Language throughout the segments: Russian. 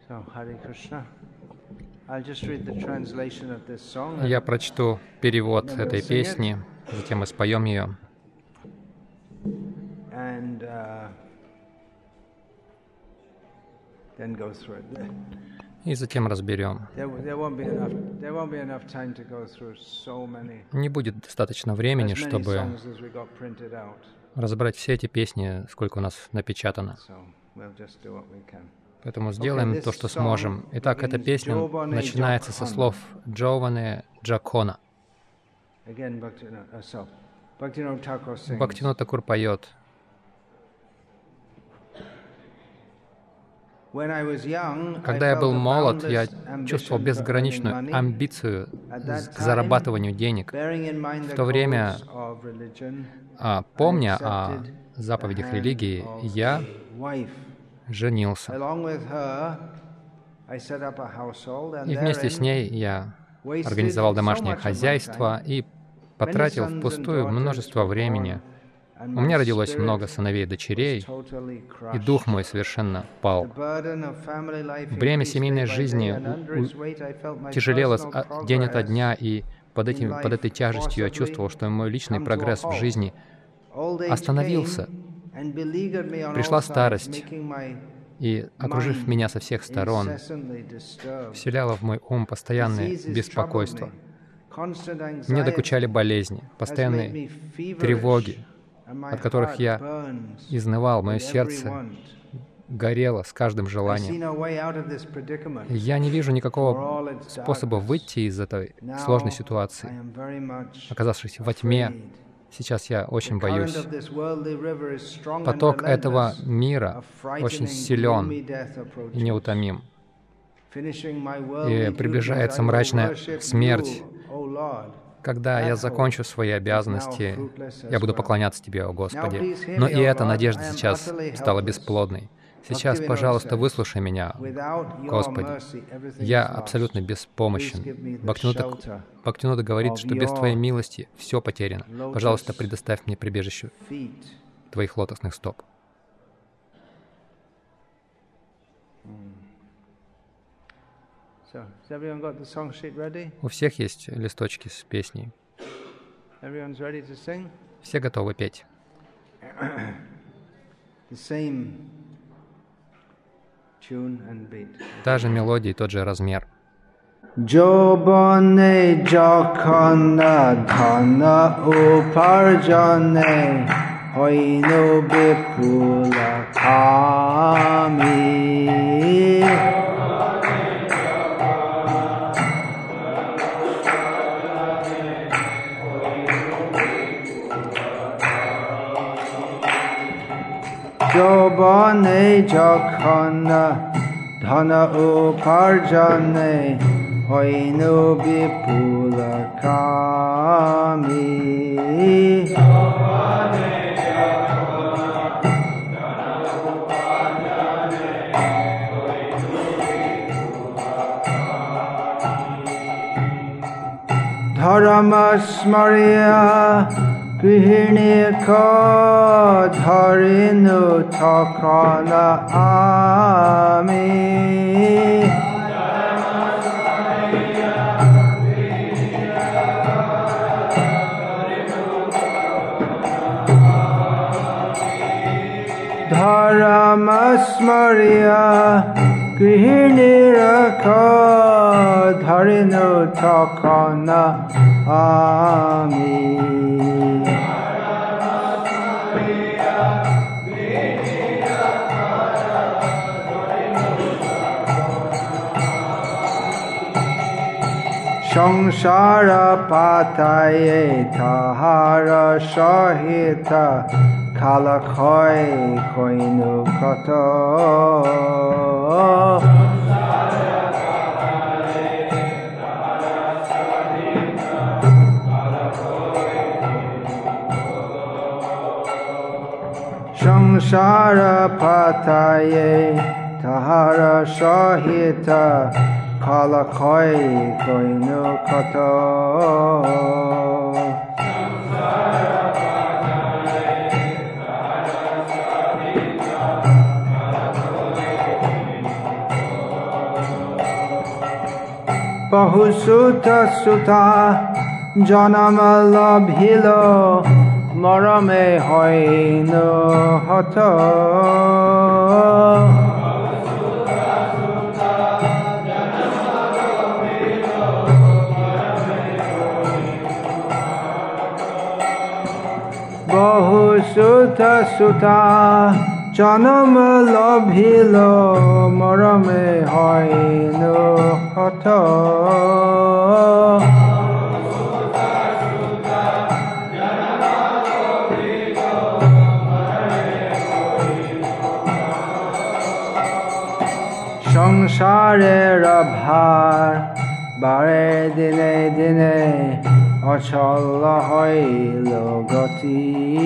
Я прочту перевод этой песни, затем мы споем ее. И затем разберем. Не будет достаточно времени, чтобы разобрать все эти песни, сколько у нас напечатано. Поэтому сделаем то, что сможем. Итак, эта песня начинается со слов Джованы Джакона. Бхактивинода Такур поет. Когда я был молод, я чувствовал безграничную амбицию к зарабатыванию денег. В то время, помня о заповедях религии, я женился. И вместе с ней я организовал домашнее хозяйство и потратил впустую множество времени. У меня родилось много сыновей и дочерей, и дух мой совершенно пал. Бремя семейной жизни тяжелело день ото дня, и под этой тяжестью я чувствовал, что мой личный прогресс в жизни остановился. Пришла старость, и, окружив меня со всех сторон, вселяла в мой ум постоянное беспокойство. Мне докучали болезни, постоянные тревоги, от которых я изнывал, мое сердце горело с каждым желанием. Я не вижу никакого способа выйти из этой сложной ситуации, оказавшись во тьме. Сейчас я очень боюсь. Поток этого мира очень силен и неутомим. И приближается мрачная смерть. Когда я закончу свои обязанности, я буду поклоняться Тебе, о Господи. Но и эта надежда сейчас стала бесплодной. Сейчас, пожалуйста, выслушай меня, Господи. Я абсолютно беспомощен. Бхактивинода говорит, что без Твоей милости все потеряно. Пожалуйста, предоставь мне прибежище Твоих лотосных стоп. У всех есть листочки с песней. Все готовы петь. Та же мелодия и тот же размер. Jobane jakana dhana uparjane hoinu bipula kami. Jobane jakana dhana uparjane hoinu bipula kami. Dharamasmarya Grihinika dharinu takana ami. Dharamasmarya Grihiniraka dharinu takana ami. Samsara pataye tahara sahita kalakhoi koinu kato. Samsara pataye tahara sahita kalakhoi koinu kato. বহু সুত সুতা জনম লভিল মরমে হইন হত বহু সুত সুতা জনম লভিল মরমে হইন হত সংসারের ভার বারে দিনে দিনে অচল হইল গতি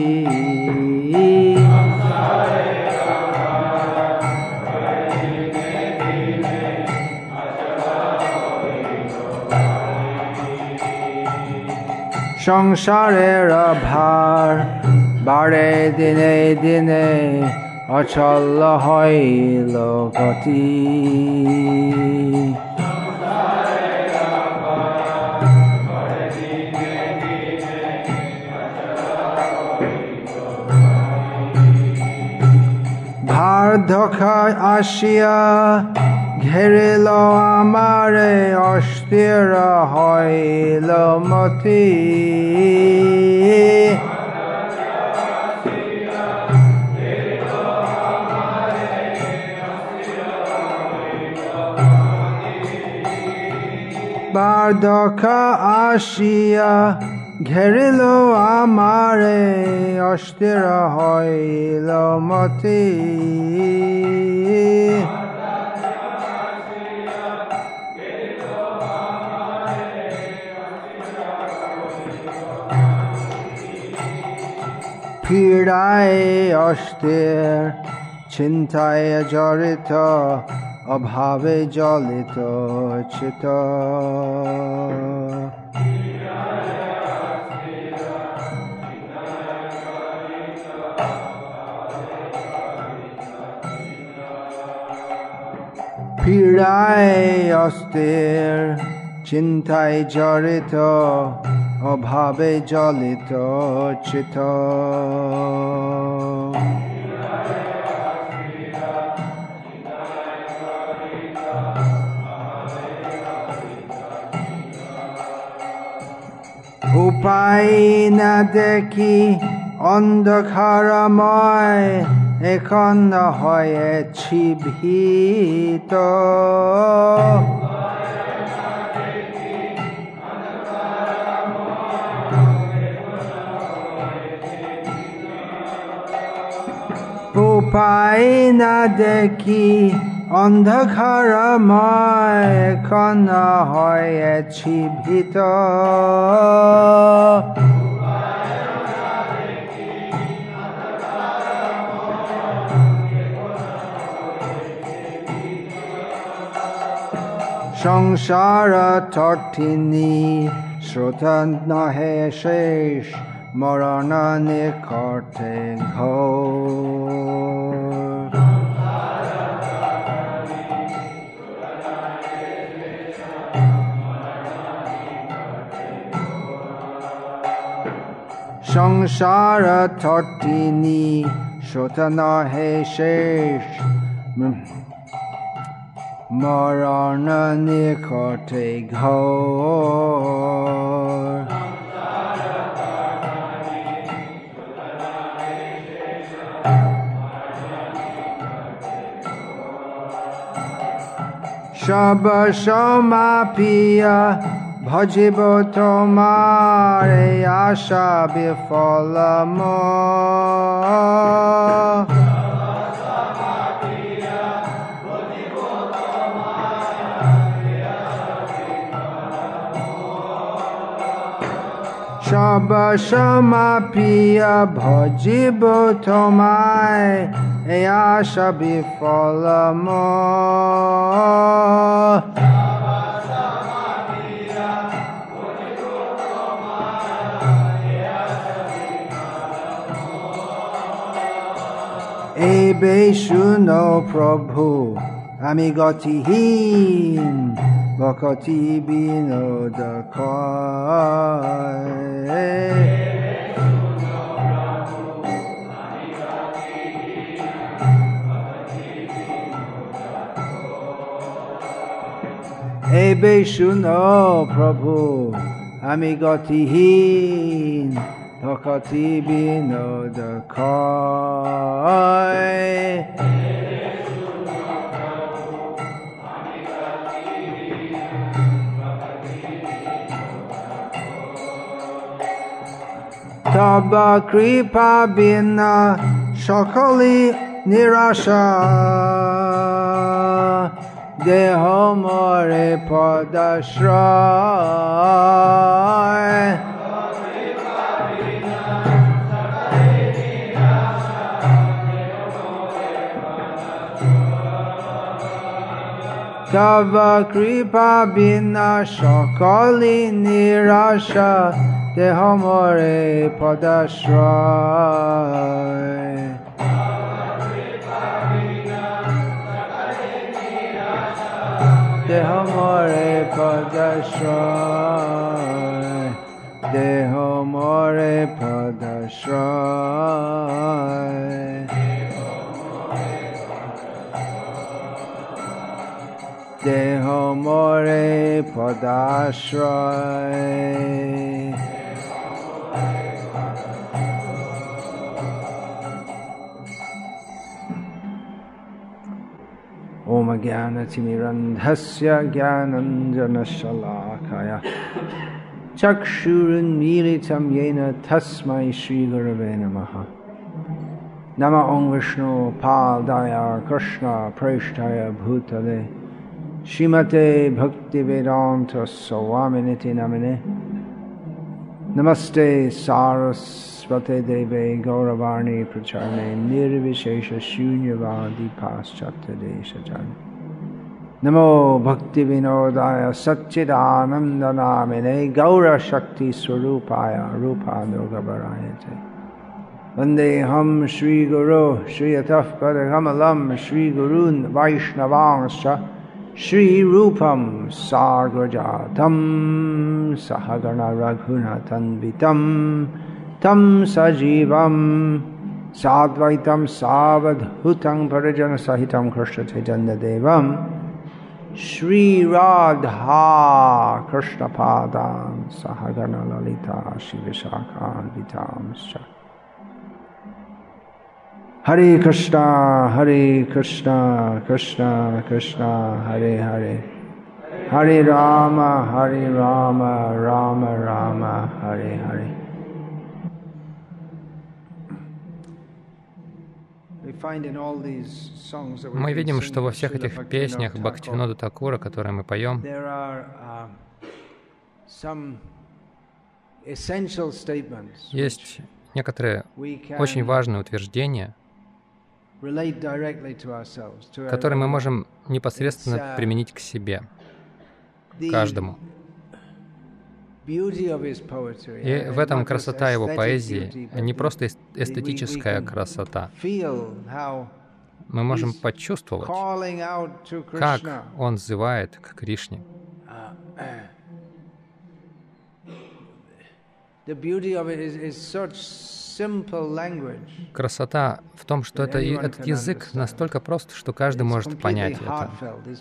সংসারের ভার বারে দিনে দিনে অচল হইল গতি বার্ধক্য আসিয়া ঘেরিল আমারে অস্থির হইল মতি বার্ধক্য আসিয়া ঘেরিল আমারে অস্থির হইল মতি পীড়ায় অস্থির চিন্তায় জড়িত অভাবে জলিত চিত পীড়ায় অস্থির চিন্তায় জড়িত অভাবে জলিত চিত উপায় না দেখি অন্ধকারময় এখন হয়েছি ভীত উপায় না দেখি অন্ধকারময় এখন হয়েছি ভীত সংসার তটিনী স্রোত নহে শেষ মরণ নিকটে ঘোর সংসার তটিনী স্রোত নহে শেষ মরণ নিকটে ঘোর সব সমাপিয়া ভজিব তোমার আশা বিফল সব সমাপিয়া ভজিব তোমায় এই আশা বিফল এইবে শুনো প্রভু আমি গতিহীন Bhakti Vinoda Kai. Ebe Shuno Prabhu Amigatihin Bhakti Vinoda Kai. Taba Kripa Bina Shakali Nirasha Deho More Padashray. Tava Kripa Bina Shakali Nirasha Deho More Padashray. Deho More Padashray. Deho More Padashray. Deho More Padashray. Om Jnanatimirandhasya Jnananjanashalakaya Chakshurunmilitam Yena Tasmai Shri Gurave Namaha. Nama Om Vishnu Padaya Krishna Preshtaya Bhutale Shrimate Bhaktivedanta Swaminiti Namine. Namaste Sarasvate Deve Gauravarni Pracharne Nirvishesha Shunyavadi Paschatya Deshajan. Namo Bhakti Vinodaya Satchidananda Namine Gaura Shakti Swarupaya Rupa Durgabarayate. Vandeham Shri Guru Shri Ataf Padakamalam Shri Gurun Vaishnavangscha Shri Rupam Sargajatam Sahagana Raghunathan Vitam Tam Sajivam Sadvaitam Savadhutam Parijana Sahitam Krishna Chaitanya Devam Shri Radha Krishna Padam Sahagana Lalita Shri Vishakhan Vitam Scha. Hare Krishna, Krishna Krishna, Hare Hare. Hare Rama, Rama Rama, Hare Hare. Мы видим, что во всех этих песнях Бхактивинода Такура, которые мы поем, есть некоторые очень важные утверждения, которые мы можем непосредственно применить к себе, каждому. И в этом красота его поэзии, не просто эстетическая красота. Мы можем почувствовать, как он взывает к Кришне. Красота в том, что этот язык настолько прост, что каждый может понять это.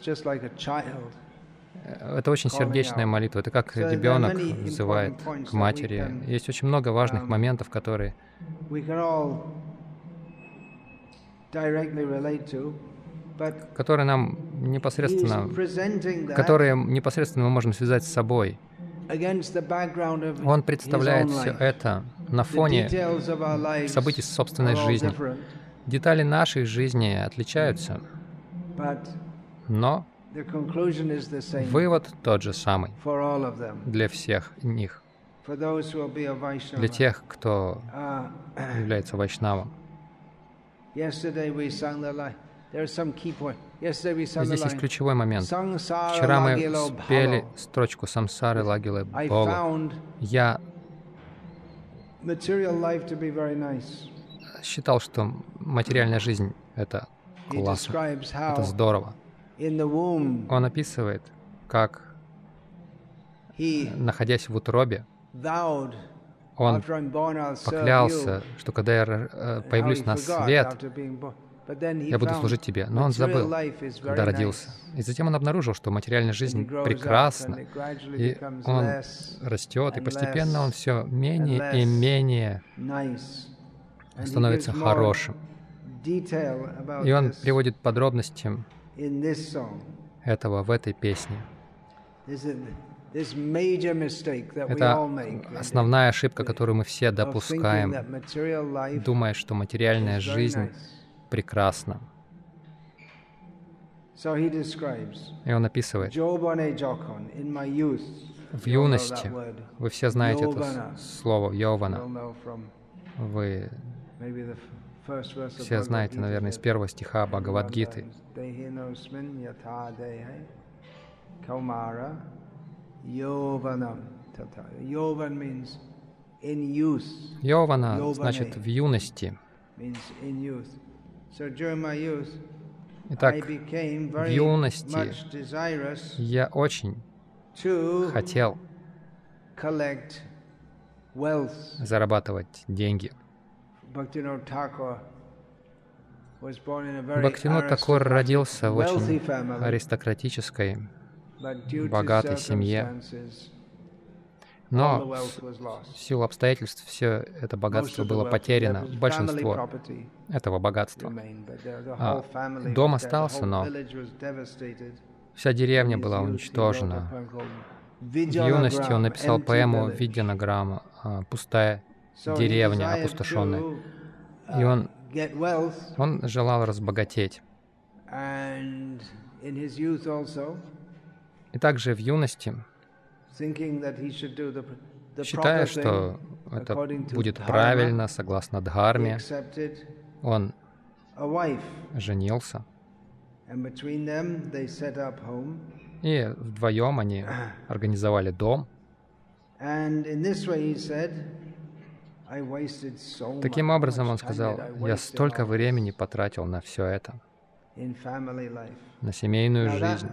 Это очень сердечная молитва. Это как ребенок взывает к матери. Есть очень много важных моментов, которые нам непосредственно, которые непосредственно мы можем связать с собой. Он представляет все это на фоне событий собственной жизни. Детали нашей жизни отличаются, но вывод тот же самый для всех них, для тех, кто является вайшнавом. Здесь есть ключевой момент. Вчера мы спели строчку «Самсары лагиле Богу». Я считал, что материальная жизнь — это классно, это здорово. Он описывает, как находясь в утробе, он поклялся, что когда я появлюсь на свет, я буду служить тебе. Но он забыл, когда родился. И затем он обнаружил, что материальная жизнь прекрасна, и он растет, и постепенно он все менее и менее становится хорошим. И он приводит подробности этого в этой песне. Это основная ошибка, которую мы все допускаем, думая, что материальная жизнь прекрасна. И он описывает: в юности, вы все знаете это слово «йована», вы все знаете, наверное, из первого стиха Бхагавад-гиты. Йована значит в юности. Итак, в юности я очень хотел зарабатывать деньги. Бхактивинод Такур родился в очень аристократической, богатой семье, но в силу обстоятельств все это богатство было потеряно, большинство этого богатства. Дом остался, но вся деревня была уничтожена. В юности он написал поэму «Видьянаграма», «Пустая деревня, опустошенная». И он желал разбогатеть. И также в юности, считая, что это будет правильно, согласно Дхарме, он женился. И вдвоем они организовали дом. Таким образом, он сказал: «Я столько времени потратил на все это, на семейную жизнь».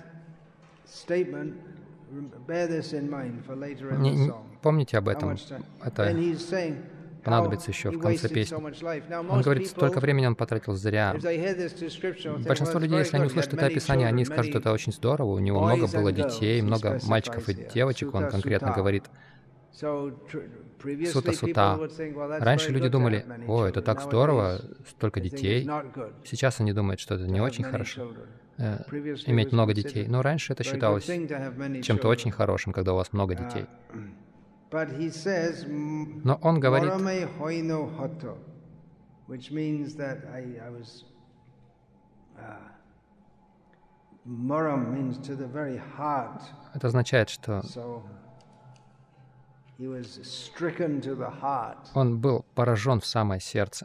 Помните об этом. Это понадобится еще в конце песни. Он говорит, столько времени он потратил зря. Большинство людей, если они услышат это описание, они скажут, это очень здорово, у него много было детей, много мальчиков и девочек, он конкретно говорит. Сута-сута. Раньше люди думали: «О, это так здорово, столько детей». Сейчас они думают, что это не очень хорошо, иметь много детей. Но раньше это считалось чем-то очень хорошим, когда у вас много детей. Но он говорит, это означает, что он был поражен в самое сердце.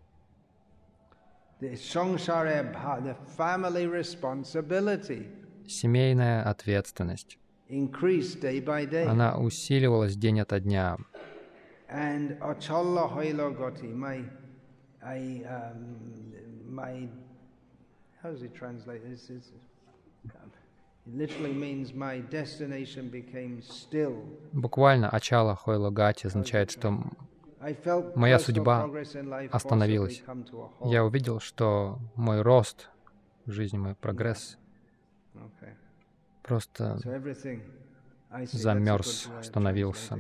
Семейная ответственность, она усиливалась день ото дня. Буквально «Ачала Хойлогати» означает, что моя судьба остановилась. Я увидел, что мой рост в жизни, мой прогресс просто замерз, остановился.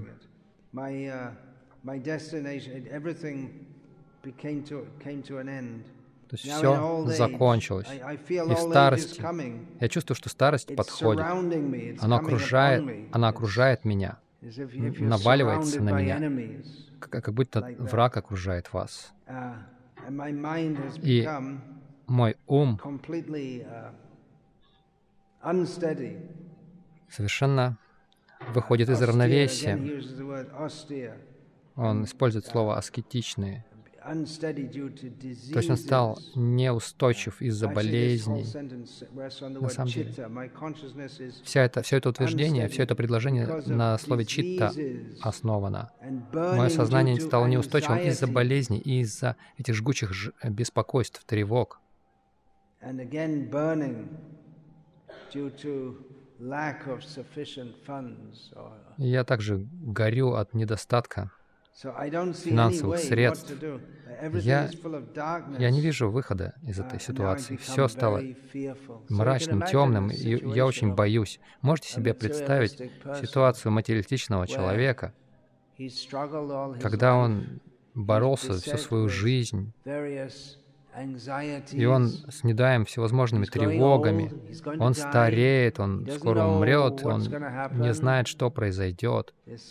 То есть все закончилось. И в старости, я чувствую, что старость подходит. Она окружает меня, наваливается на меня, как будто враг окружает вас. И мой ум совершенно выходит из равновесия. Он использует слово «аскетичные». То есть он стал неустойчив из-за болезней. На самом деле, все это утверждение, все это предложение на слове «читта» основано. Мое сознание стало неустойчивым из-за болезней и из-за этих жгучих беспокойств, тревог. И я также горю от недостатка финансовых средств. Я не вижу выхода из этой ситуации. Все стало мрачным, темным, и я очень боюсь. Можете себе представить ситуацию материалистичного человека, когда он боролся всю свою жизнь, и он снедаем всевозможными тревогами, он стареет, он скоро умрет, он не знает, что произойдет.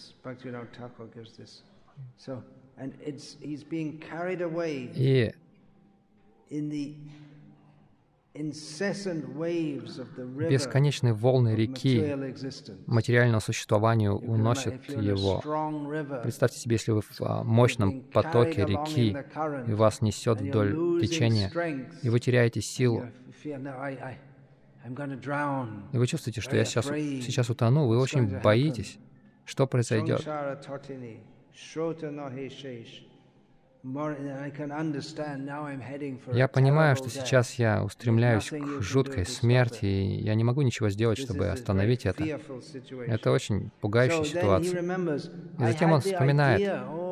И бесконечные волны реки материального существования уносят его. Представьте себе, если вы в мощном потоке реки, и вас несет вдоль течения, и вы теряете силу, и вы чувствуете, что я сейчас утону, вы очень боитесь, что произойдет. Я понимаю, что сейчас я устремляюсь к жуткой смерти, и я не могу ничего сделать, чтобы остановить это. Это очень пугающая ситуация. И затем он вспоминает: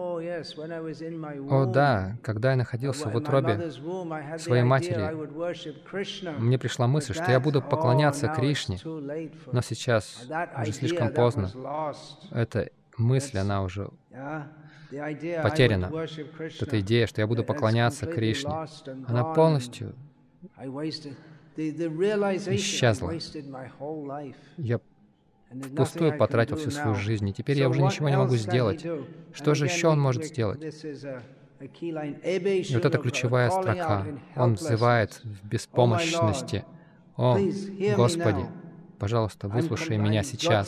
«О да, когда я находился в утробе своей матери, мне пришла мысль, что я буду поклоняться Кришне, но сейчас уже слишком поздно. Эта мысль, она уже потеряна. Эта идея, что я буду поклоняться Кришне, она полностью исчезла. Я впустую потратил всю свою жизнь, и теперь я уже ничего не могу сделать. Что же еще он может сделать? И вот эта ключевая строка. Он взывает в беспомощности: «О, Господи, пожалуйста, выслушай меня сейчас.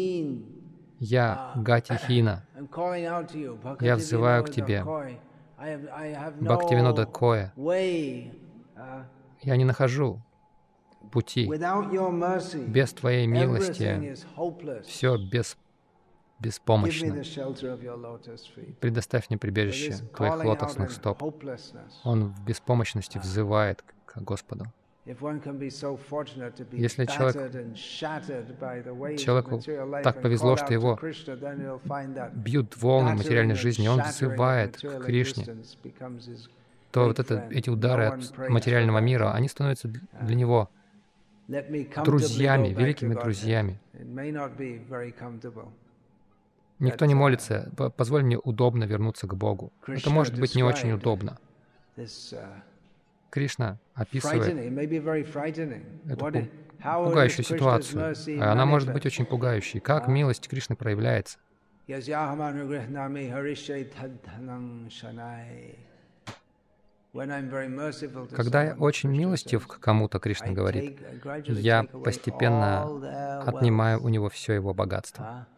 Я Гати-хина. Я взываю к Тебе. Бхактивинода Коя. Я не нахожу пути. Без Твоей милости все беспомощно. Предоставь мне прибежище Твоих лотосных стоп». Он в беспомощности взывает к Господу. Если человеку так повезло, что его бьют волны материальной жизни, он взывает к Кришне, то вот эти удары от материального мира, они становятся для него друзьями, великими друзьями. Никто не молится: «Позволь мне удобно вернуться к Богу». Это может быть не очень удобно. Кришна описывает эту пугающую ситуацию. Она может быть очень пугающей. Как милость Кришны проявляется? Когда я очень милостив к кому-то, Кришна говорит, я постепенно отнимаю у него все его богатство.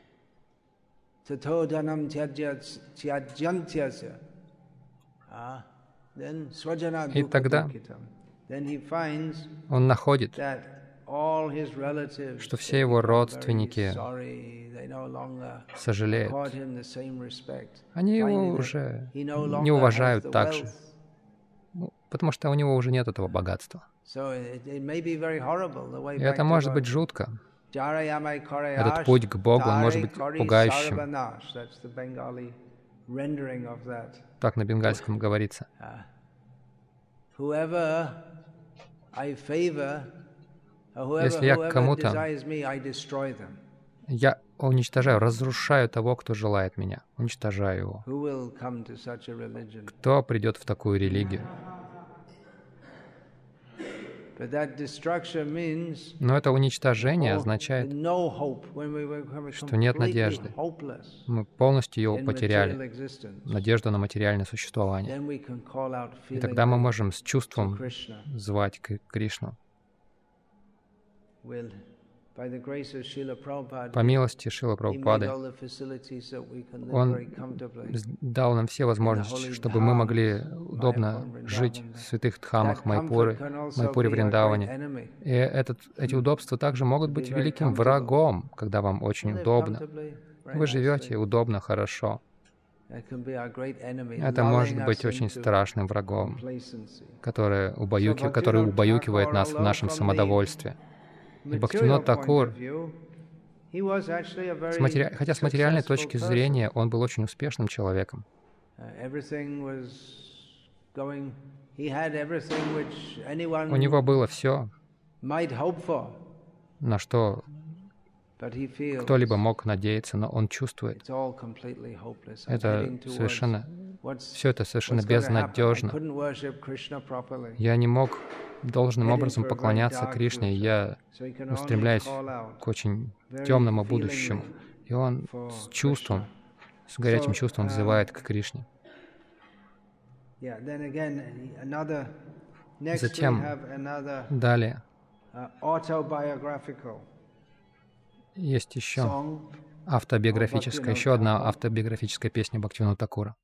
И тогда он находит, что все его родственники сожалеют. Они его уже не уважают так же, потому что у него уже нет этого богатства. И это может быть жутко. Этот путь к Богу, он может быть пугающим. Так на бенгальском говорится. Если я кому-то, я уничтожаю, разрушаю того, кто желает меня, уничтожаю его. Кто придет в такую религию? Но это уничтожение означает, что нет надежды. Мы полностью его потеряли, надежду на материальное существование. И тогда мы можем с чувством звать Кришну. По милости Шрила Прабхупады, Он дал нам все возможности, чтобы мы могли удобно жить в святых дхамах Майпуры, Вриндаване. И эти удобства также могут быть великим врагом, когда вам очень удобно. Вы живете удобно, хорошо. Это может быть очень страшным врагом, который убаюкивает нас в нашем самодовольстве. И Бхактивинод Такур, хотя с материальной точки зрения он был очень успешным человеком. У него было все, на что кто-либо мог надеяться, но он чувствует, все это совершенно безнадежно. Я не мог должным образом поклоняться Кришне, я устремляюсь к очень темному будущему. И он с чувством, с горячим чувством взывает к Кришне. Затем, далее, есть еще автобиографическая, еще одна автобиографическая песня Бхактивинода Такура.